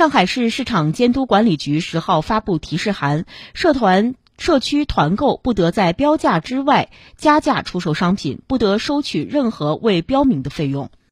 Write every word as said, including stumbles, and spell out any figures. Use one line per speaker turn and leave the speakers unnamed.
上海市市场监督管理局十号发布提示函，社团社区团购不得在标价之外加价出售商品，不得收取任何未标明的费用。